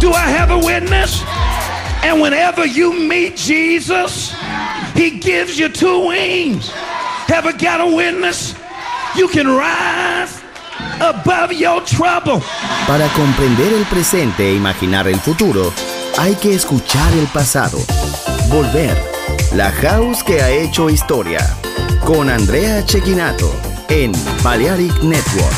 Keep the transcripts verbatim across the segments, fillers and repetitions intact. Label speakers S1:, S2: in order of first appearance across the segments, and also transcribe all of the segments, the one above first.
S1: Do I have a witness? And whenever you meet Jesus, he gives you two wings. Have I got a witness? You can rise above your trouble.
S2: Para comprender el presente e imaginar el futuro, hay que escuchar el pasado. Volver. La house que ha hecho historia. Con Andrea Cecchinato en Balearic Network.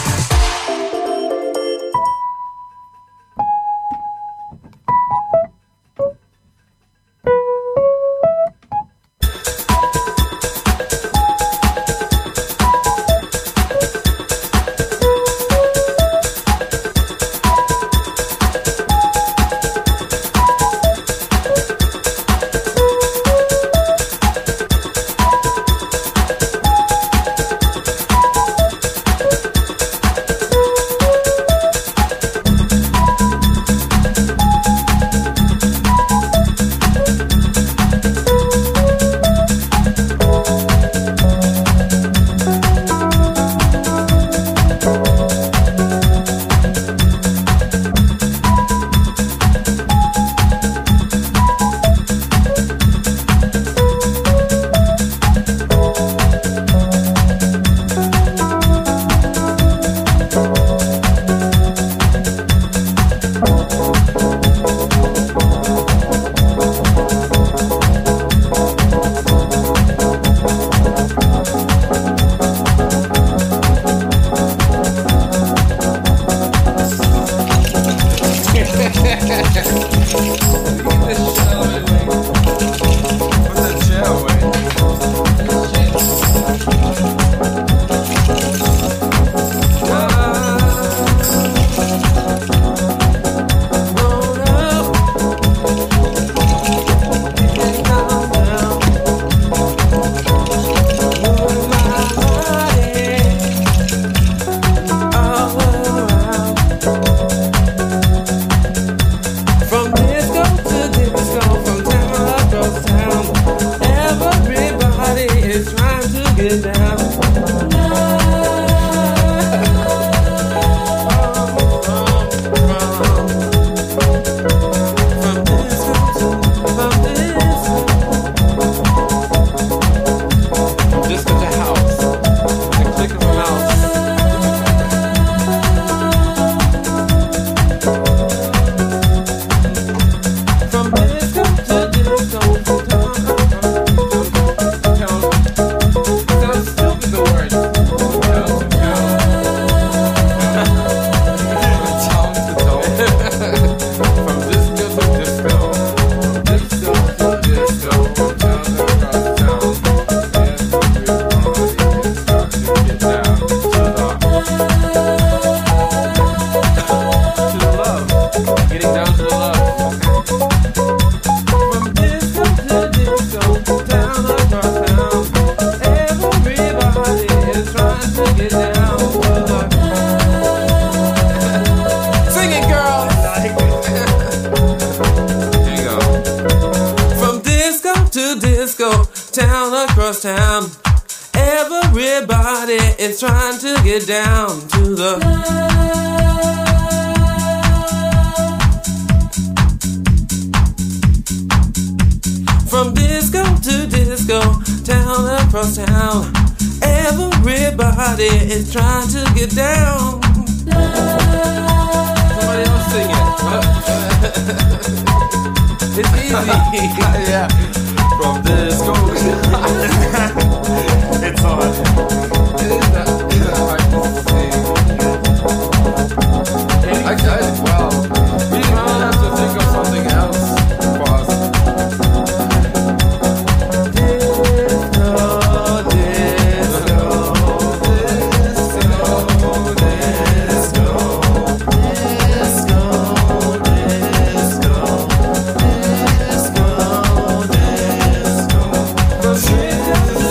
S3: Disco, disco, disco.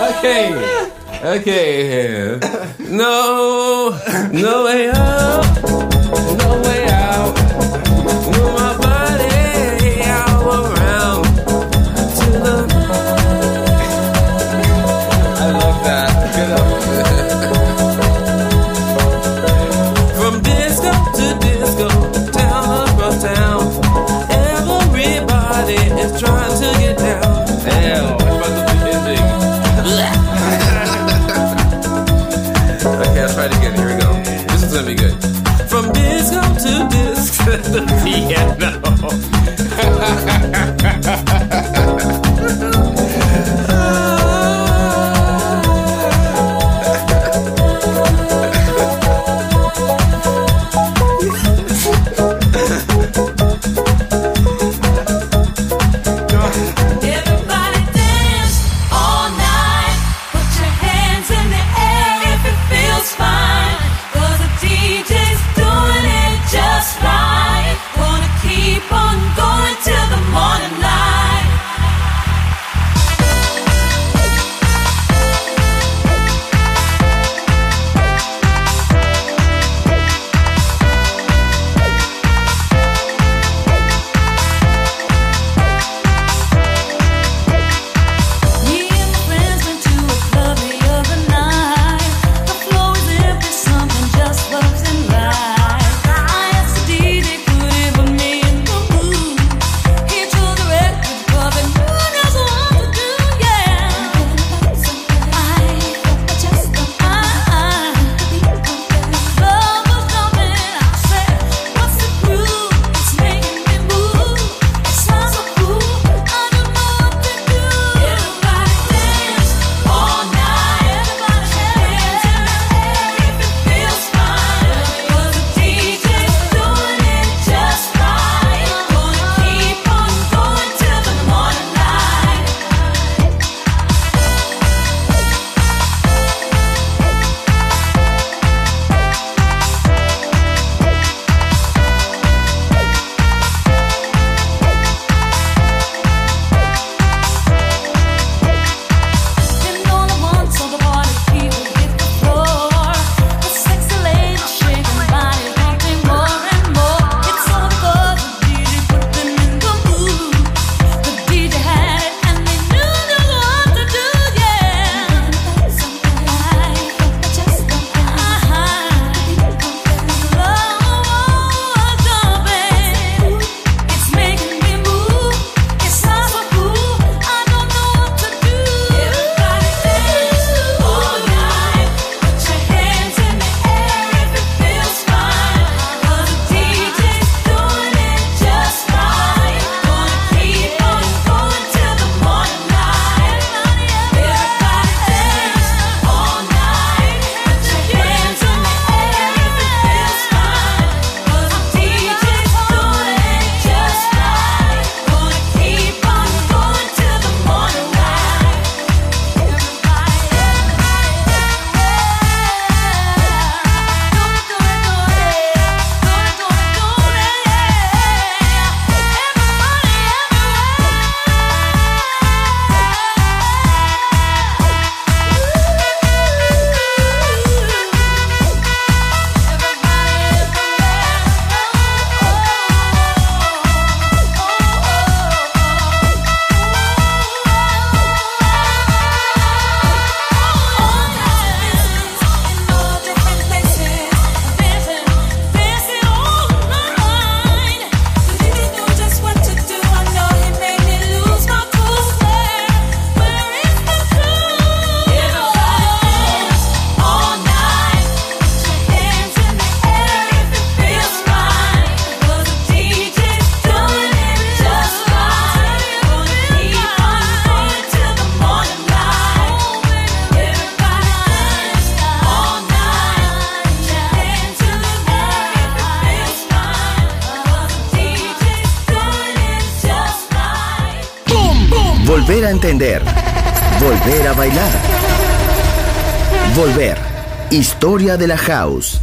S3: Okay. Okay. No, no way out. No way out. Move my body all around to the. I love that. Good up. From disco to disco, town across town, everybody is trying to get down. Damn, I'm about to be ending. Okay, I'll try it again. Here we go. This is gonna be good. From disco to disco to piano.
S2: Volver a entender. Volver a bailar. Volver. Historia de la House.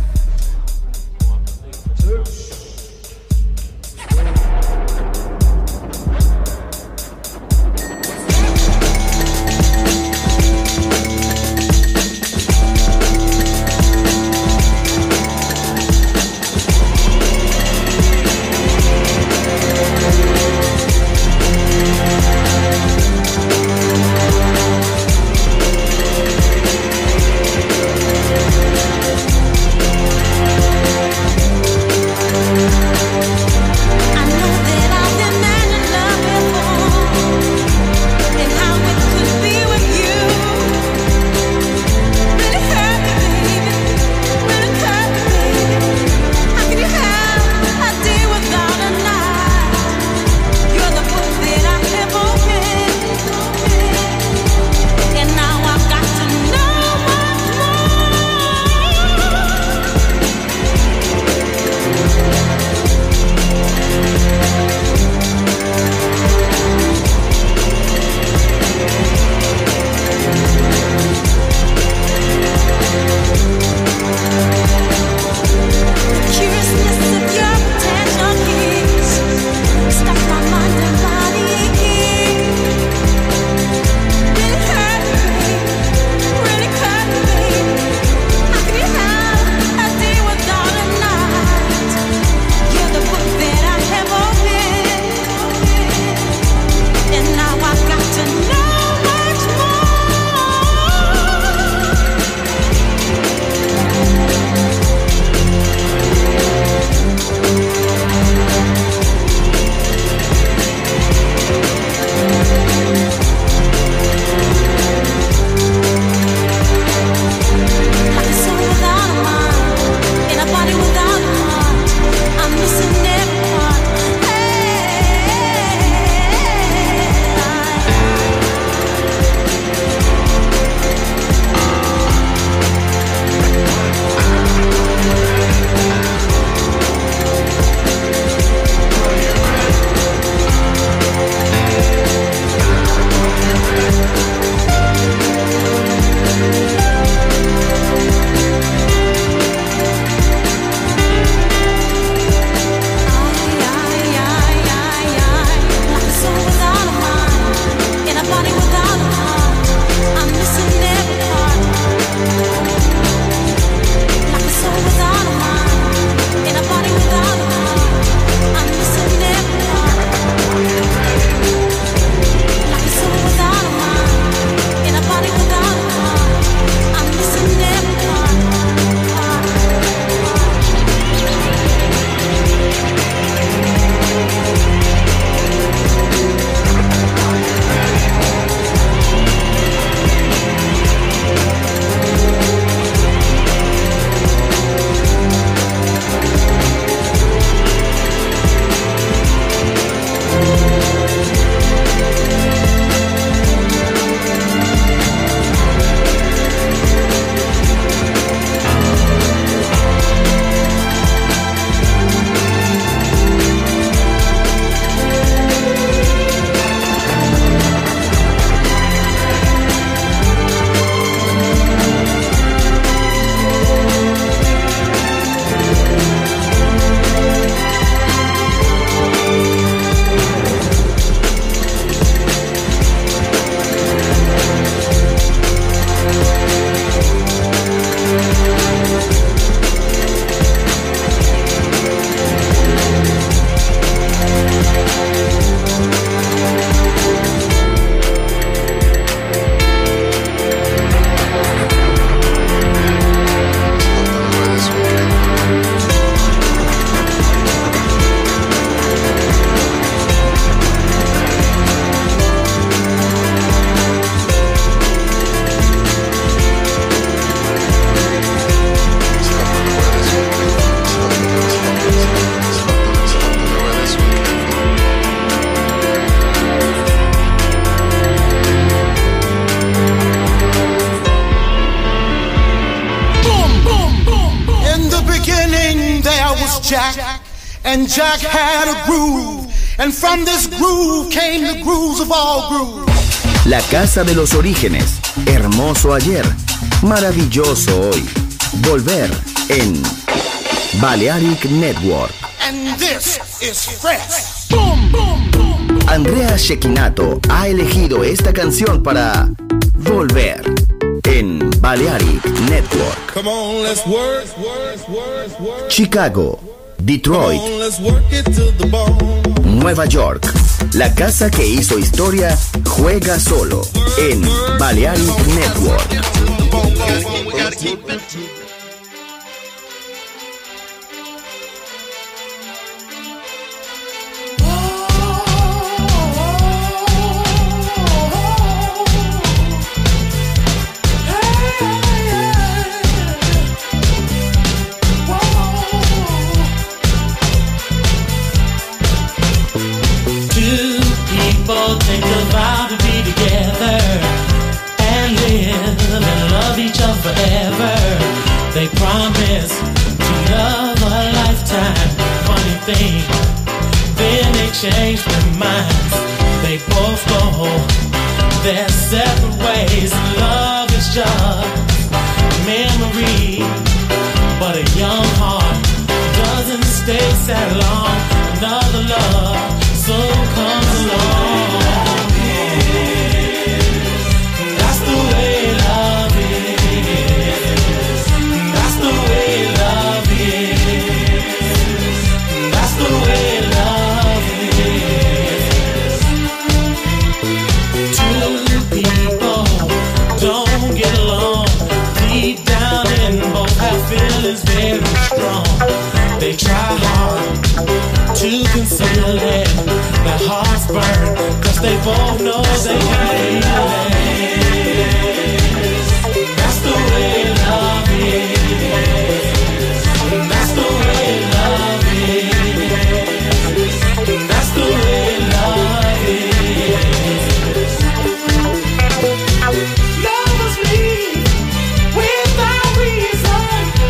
S4: Jack, and Jack had a groove, and from this groove came the grooves of all grooves.
S2: La casa de los orígenes, hermoso ayer, maravilloso hoy. Volver en Balearic Network.
S4: And this is fresh. Boom, boom, boom.
S2: Andrea Cecchinato ha elegido esta canción para Volver en Balearic Network.
S5: Come on, let's work.
S2: Chicago, Detroit,
S5: Come on, let's work it to the bone.
S2: Nueva York. La casa que hizo historia juega solo en Balearic Network.
S6: Take a vow to be together and live and love each other forever. They promise to love a lifetime. Funny thing, then they change their minds. They both go their separate ways. Love is just a memory, but a young heart doesn't stay sad long. Another love soon comes along. Feelings very strong. They try hard to conceal it. Their hearts burn, cause they both know they can't heal it. That's the way love is. That's the way love is. That's the way love is. Lovers leave without reason.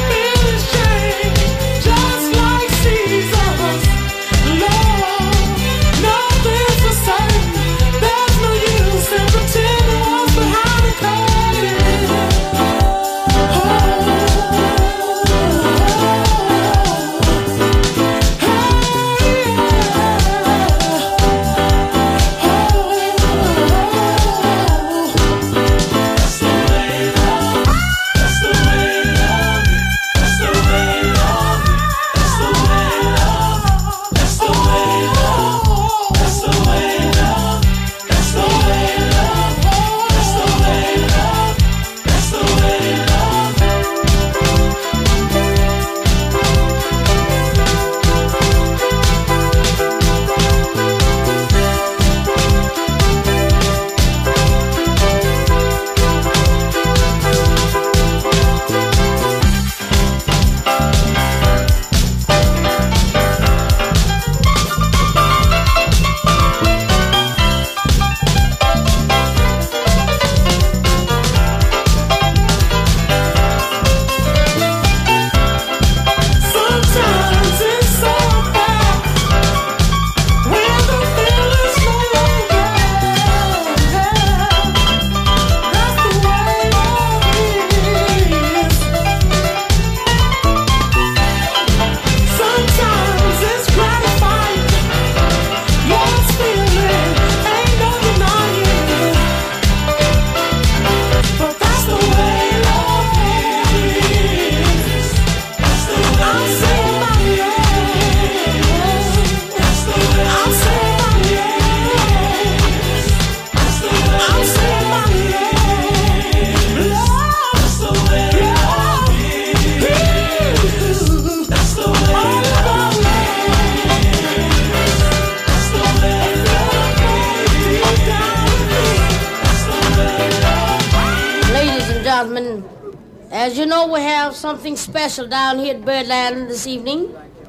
S7: As you know, we have something special down here at Birdland this evening,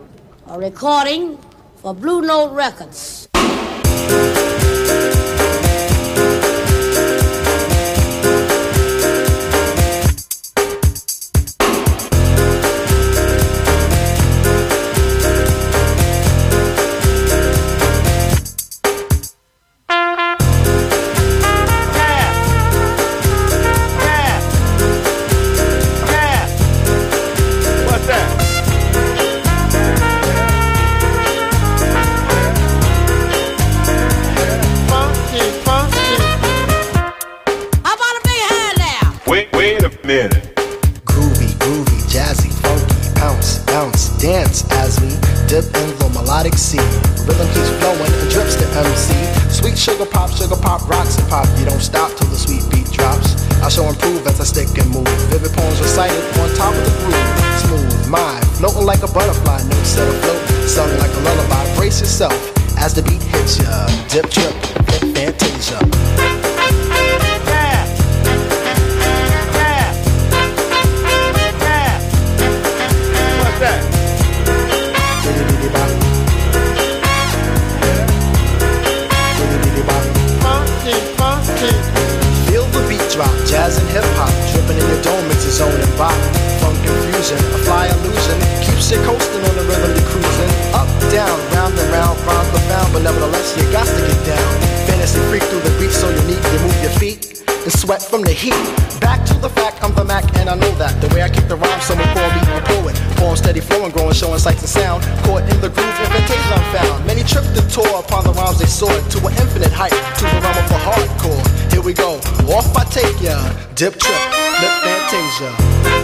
S7: a recording for Blue Note Records.
S8: Wait, wait a minute.
S9: Groovy, groovy, jazzy, funky, bounce, bounce, dance as we dip in the melodic sea. Rhythm keeps flowing and drips to M C. Sweet sugar pop, sugar pop, rocks and pop. You don't stop till the sweet beat drops. I shall improve as I stick and move. Vivid poems recited on top of the groove. Smooth, mind, floating like a butterfly. Notes set afloat, sung like a lullaby. Brace yourself as the beat hits ya. Dip, trip, hip, fantasia. Feel the beat drop, jazz and hip hop, dripping in your dome, it's a zone and bop. Funk confusion, a fly illusion, keeps you coasting on the rhythm you're cruising. Up, down, round and round, rhymes profound, but nevertheless you got to get down. Fantasy freak through the beat so unique, you move your feet and sweat from the heat. Back to the fact, I'm the Mac and I know that. The way I kick the rhyme, someone call me a poet. Poem steady flowing, growing, showing sights and sound. Caught in the groove, invitation I'm found. Many tripped and tore upon the rhymes they soared to an infinite height, to the realm of the hardcore. Here we go, off I take ya. Dip, trip, lip, fantasia.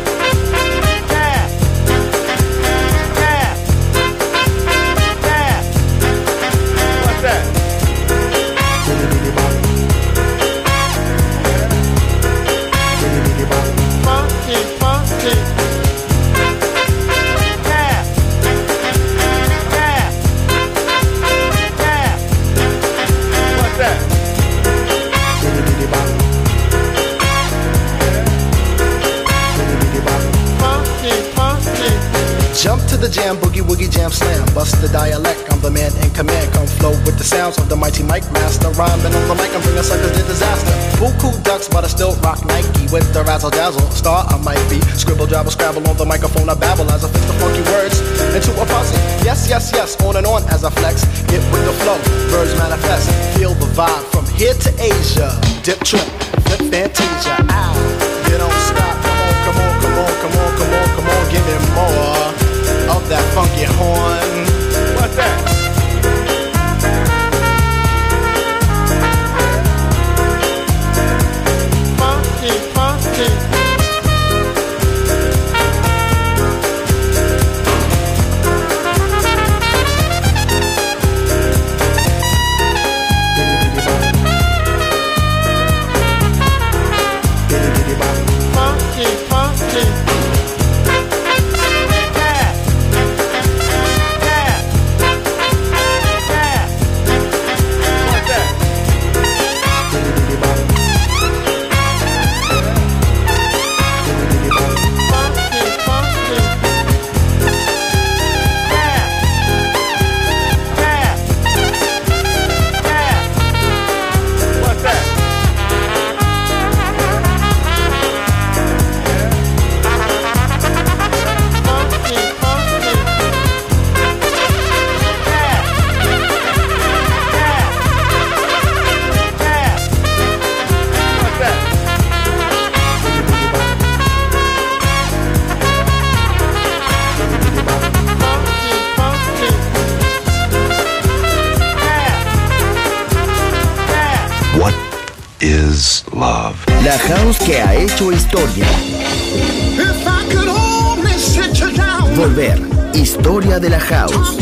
S9: Jump to the jam, boogie woogie jam slam. Bust the dialect, I'm the man in command. Come flow with the sounds of the mighty mic master. Rhyming on the mic, I'm bringing suckers to disaster. Buku ducks, but I still rock Nike. With the razzle dazzle, star I might be. Scribble, jabble, scrabble on the microphone, I babble as I fix the funky words into a puzzle. Yes, yes, yes, on and on as I flex. Get with the flow, birds manifest. Feel the vibe from here to Asia. Dip, trip, flip, fantasia. Ow, you don't stop. Come on, come on, come on, come on, come on, give me more of that funky horn. What's that? Funky, funky.
S2: La house que ha hecho historia. Volver, historia de la house.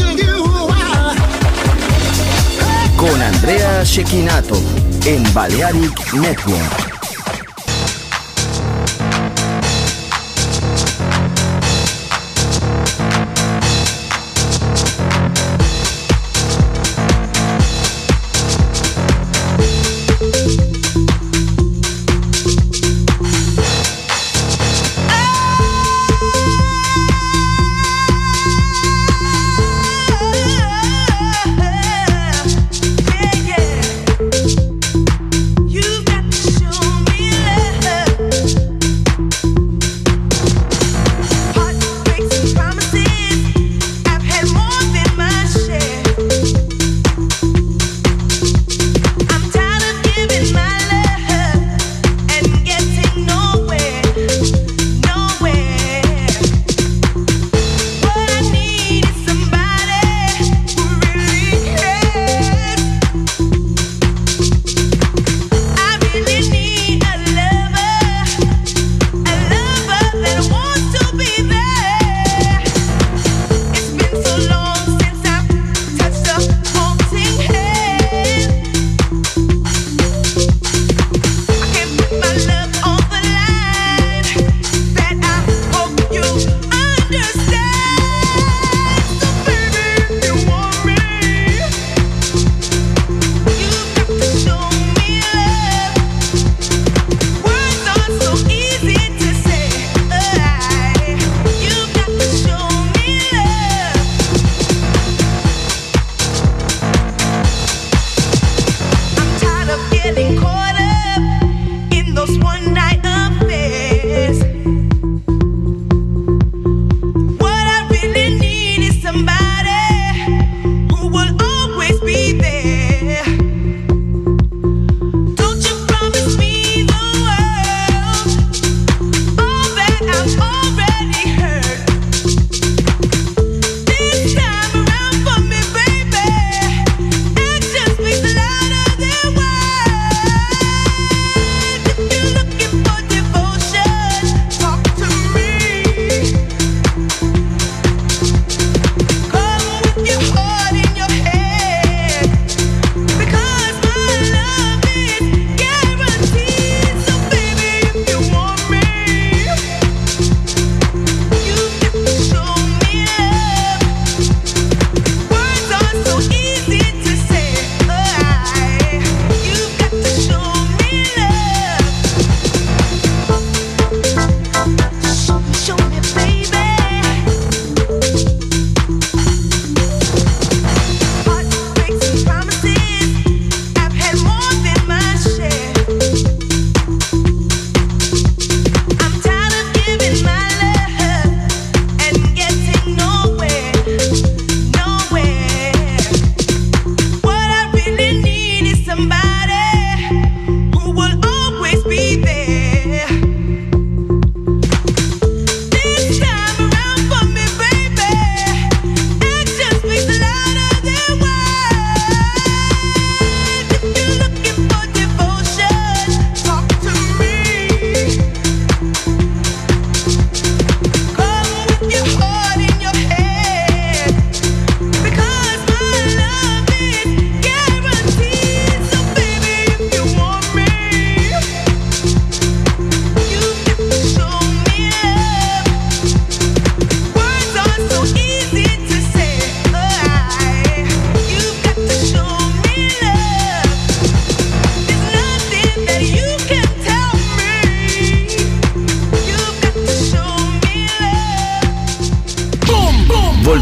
S2: Con Andrea Cecchinato en Balearic Network.
S10: You've got to show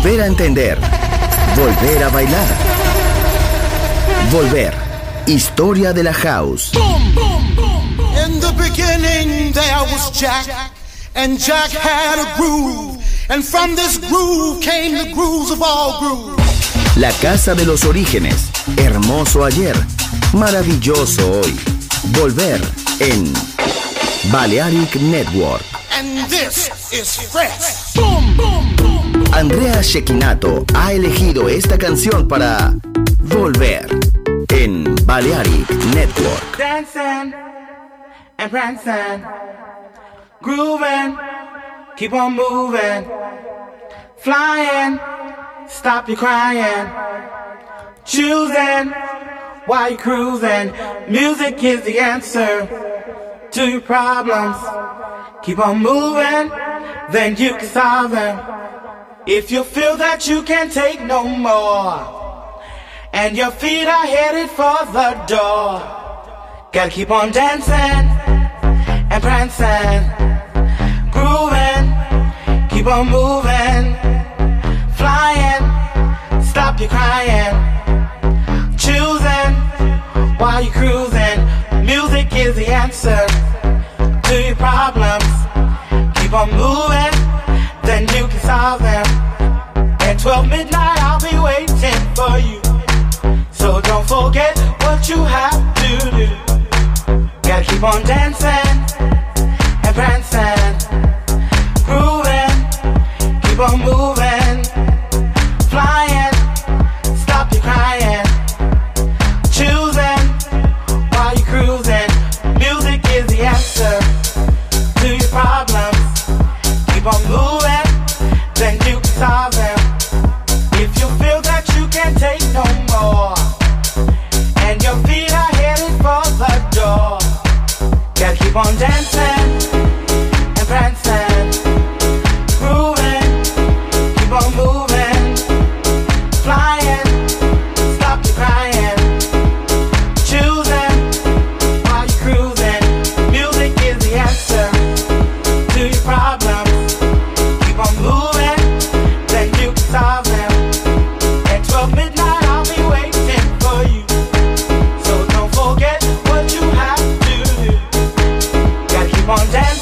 S2: volver a entender, volver a bailar, volver. Historia de la house.
S4: Boom, boom, boom, boom. In the beginning there was Jack, and Jack had a groove, and from this groove came the grooves of all grooves.
S2: La casa de los orígenes. Hermoso ayer, maravilloso hoy. Volver en Balearic Network.
S4: And this is fresh. Boom, boom, boom.
S2: Andrea Cecchinato ha elegido esta canción para Volver en Balearic Network.
S8: Dancing and prancing, grooving, keep on moving, flying, stop your crying, choosing while you're cruising. Music is the answer to your problems. Keep on moving, then you can solve them. If you feel that you can't take no more, and your feet are headed for the door, gotta keep on dancing and prancing, grooving, keep on moving, flying, stop your crying, choosing while you're cruising. Music is the answer to your problems. Keep on moving, then you can solve them. At twelve midnight I'll be waiting for you, so don't forget what you have to do. Gotta keep on dancing and prancing, grooving, keep on moving, flying, stop your crying, choosing while you're cruising. Music is the answer to your problems. Keep on moving, then you can solve them. If you feel that you can't take no more, and your feet are headed for the door, gotta keep on dancing and prancing, grooving, keep on moving, flying, stop your crying, choosing while you're cruising. Music is the answer to your problems. Keep on moving, then you can solve them. At twelve midnight I'll be waiting for you, so don't forget what you have to do. Gotta keep on dancing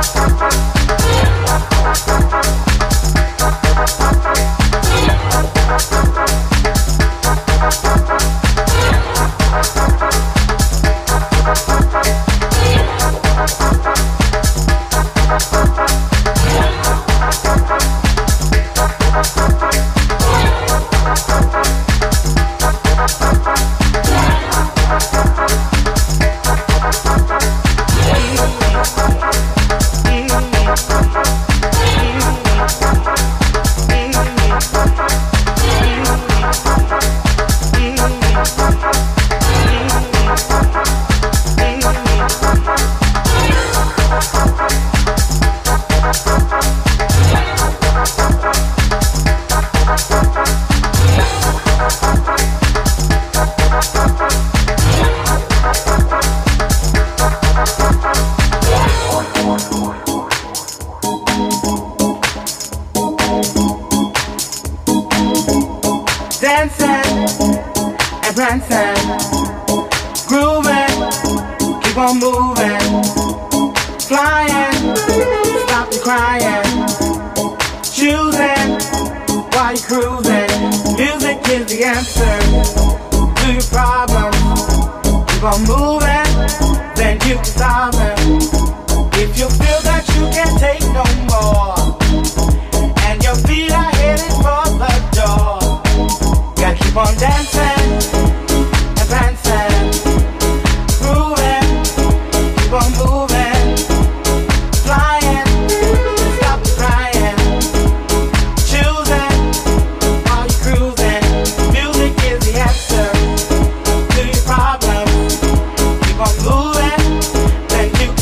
S8: Keep on moving, then you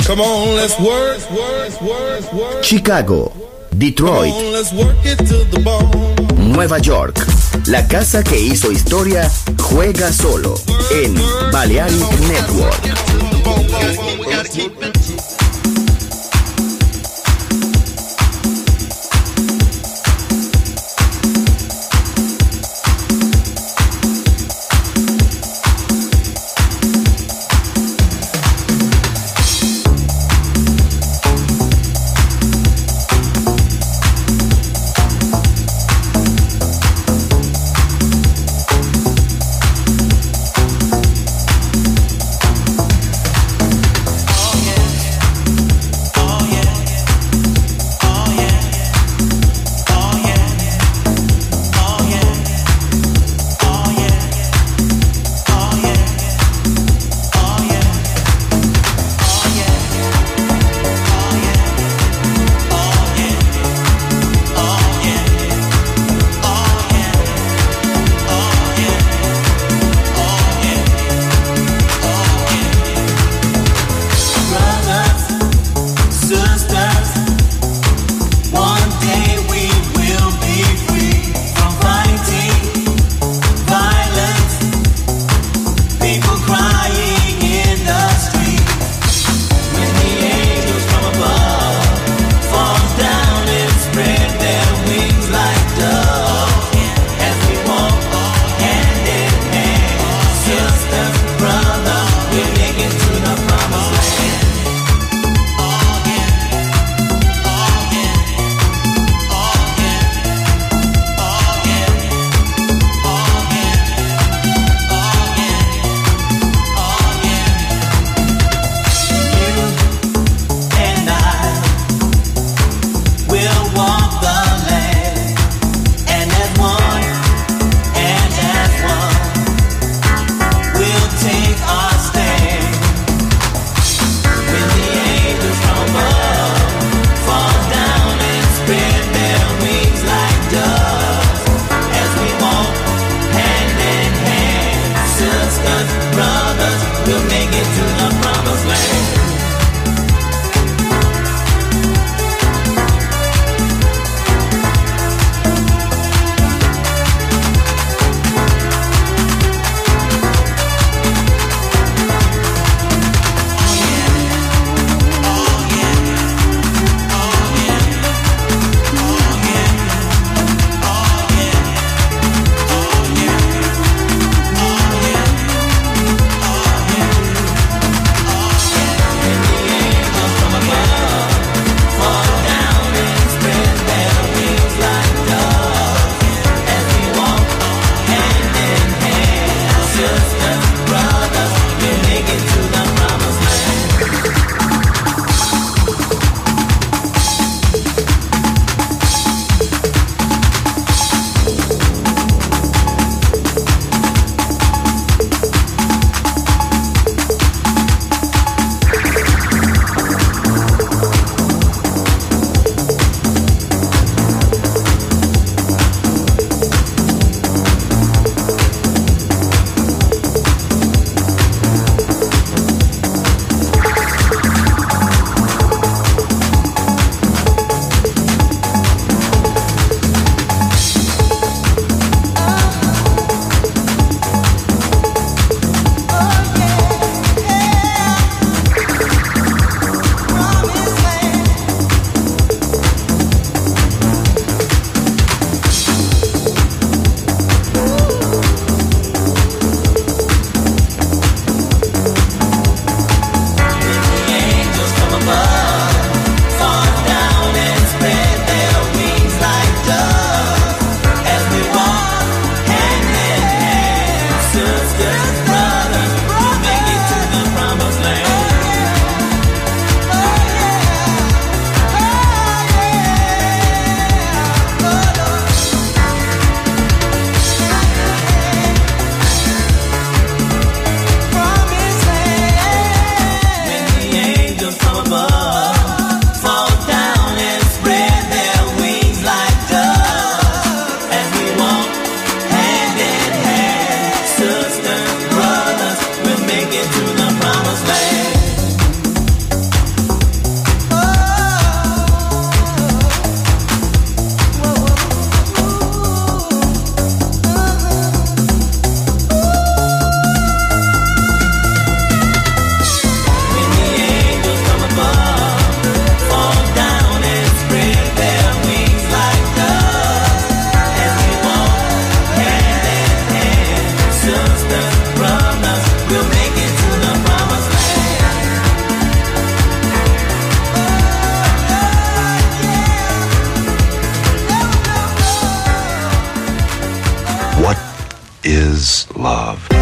S5: Come on, let's work, work, work, work.
S2: Chicago, Detroit,
S5: Come on, let's work it to the bone.
S2: Nueva York. La casa que hizo historia juega solo en Balearic Network.
S10: Oh, yeah.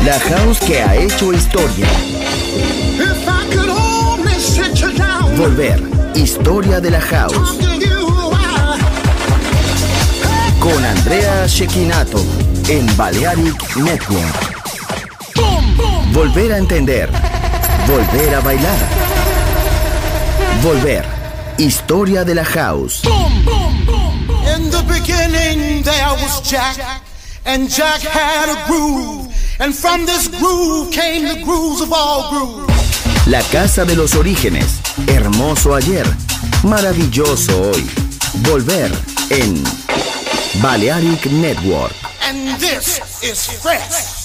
S2: La house que ha hecho historia.
S4: If I could only sit you down.
S2: Volver, historia de la house.
S4: Talking you while.
S2: Con Andrea Cecchinato en Balearic Network.
S4: Boom, boom.
S2: Volver a entender. Volver a bailar. Volver, historia de la house.
S4: Boom, boom, boom, boom. In the beginning there was Jack, and Jack had a groove, and from this groove came the grooves of all grooves.
S2: La casa de los orígenes, hermoso ayer, maravilloso hoy. Volver en Balearic Network.
S4: And this is fresh.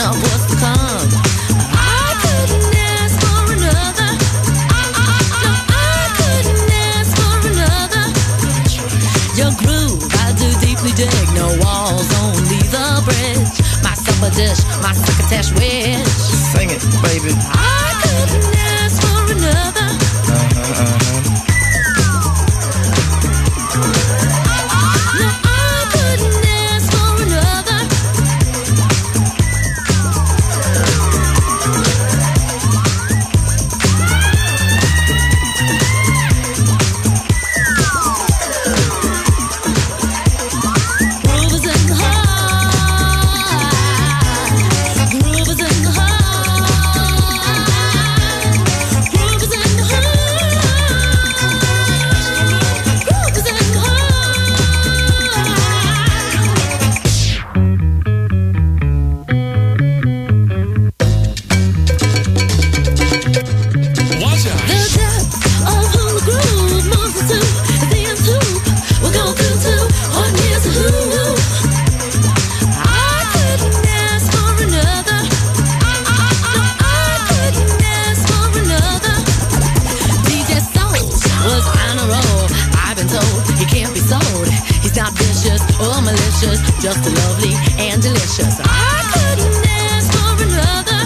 S10: of what's to come. I couldn't ask for another. No, I couldn't ask for another. Your groove, I do deeply dig. No walls, only the bridge. My supper dish, my succotash wish.
S11: Sing it, baby.
S10: I couldn't ask for another.
S11: Uh-huh, uh-huh.
S10: No, I couldn't ask for another. Groove is in the heart. Groove is in the heart. Groove is in the heart. Groove is in the heart.
S5: Watch out.
S10: The depth of who the groove moves us to, the end tube we'll go through to, or here's a who. I couldn't ask for another. No, I couldn't ask for another. D J Soul was on a roll. I've been told he can't be sold. He's not vicious or malicious, just lovely and delicious. I couldn't ask for another.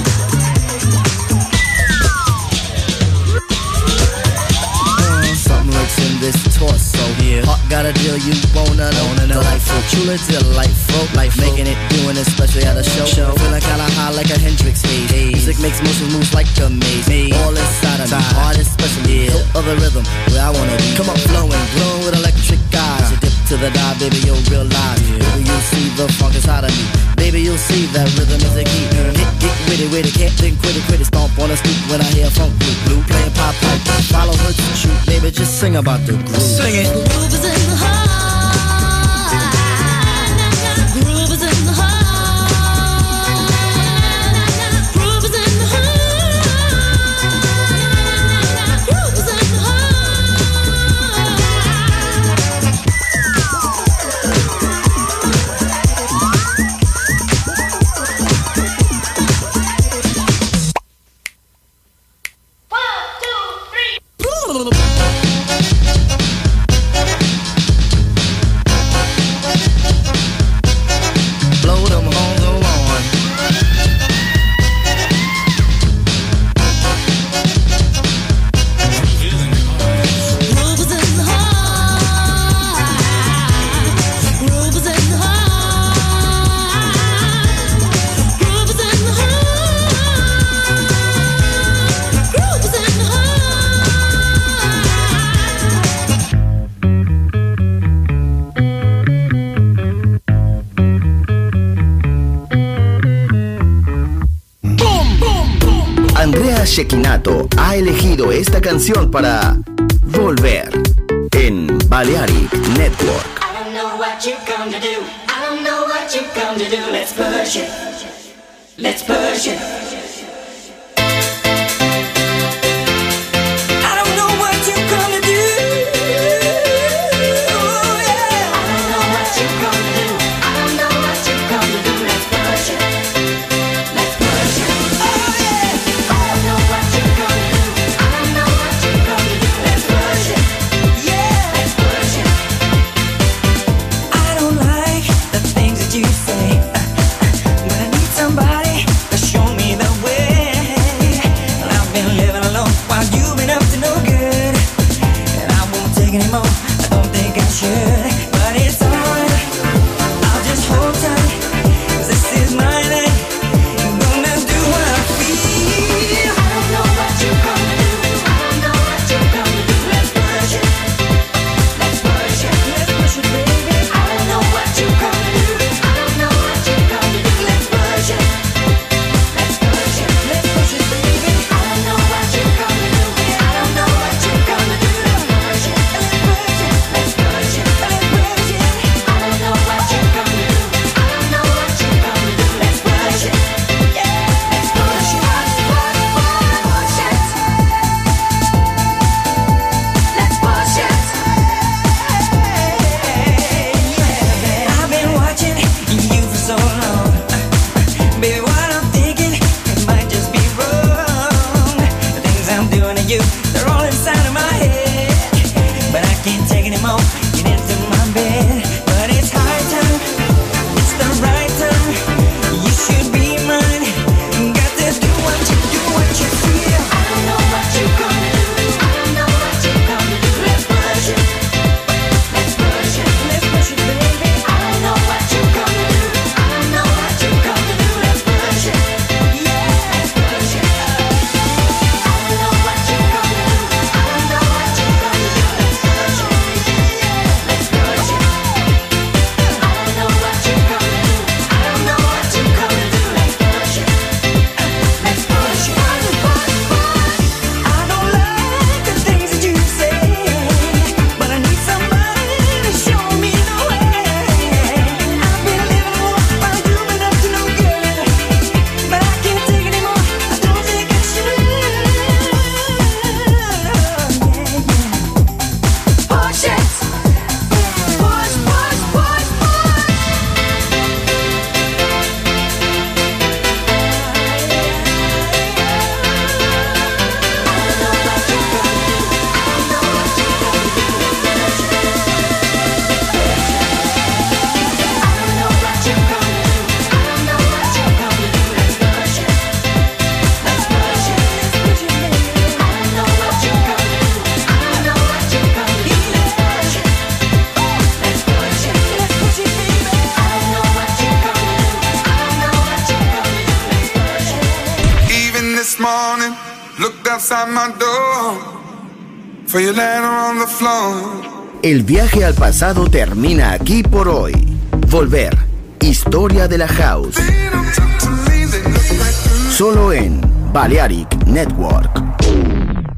S11: Something lurks in this torso. Yeah. Heart got a deal you wanna know. Delightful, truly delightful. Life making it, doing it, especially at a show. show. Feeling kinda high like a Hendrix haze. haze. Music makes motion moves like a maze. maze. All inside of me, heart especially. Yeah. Hill of the rhythm, where I wanna be. Come on, flowing, glowing with electric eyes. You dip to the dive, baby, you'll realize. Yeah. Baby, you'll see the funk inside of me. Baby, you'll see that rhythm is a key. Get, get witty, witty, can't think, quit it, quit it. Stomp on the street when I hear funk blue, blue playing pop pipe. Follow her to shoot, baby, just sing about the groove. Sing it.
S10: Groove is in the heart. Groove is in the heart. Groove is in the heart. Groove is in the heart.
S11: Blow them horns on.
S10: Groove is in the heart. Groove is in the heart. Groove is in the heart. Groove is in the
S2: Andrea Cecchinato ha elegido esta canción para Volver en Balearic Network.
S12: I don't know what you come to do. I don't know what you come to do. Let's push it. Let's push it. I don't know what you come to do. Oh, yeah. I don't know what you come to do. I don't know what you come to do. Let's push it. Let's push it. Oh, yeah. I don't know what you come to do. I don't know what you come to do. Let's push it. Yeah. Let's push it. I don't like the things that you say, but I need somebody to show me the way. And I've been living alone while you've been up to no good, and I won't take anymore. I don't think I should, but it's alright. I'll just hold tight, 'cause this is my night. I'm gonna do what I feel. I don't know what you come to do. I don't know what you come to do. Let's push it. Let's push it. Let's push it, baby. I don't know what you come to do. I don't know what you come to do. Let's push it. Let's push it. Let's push it, baby. I don't know what you come to do. I don't know what you come to do. Let's push it. Let's push it. Let's push it.
S13: at my door, for you later on the floor.
S2: El viaje al pasado termina aquí por hoy. Volver. Historia de la House. Solo en Balearic Network.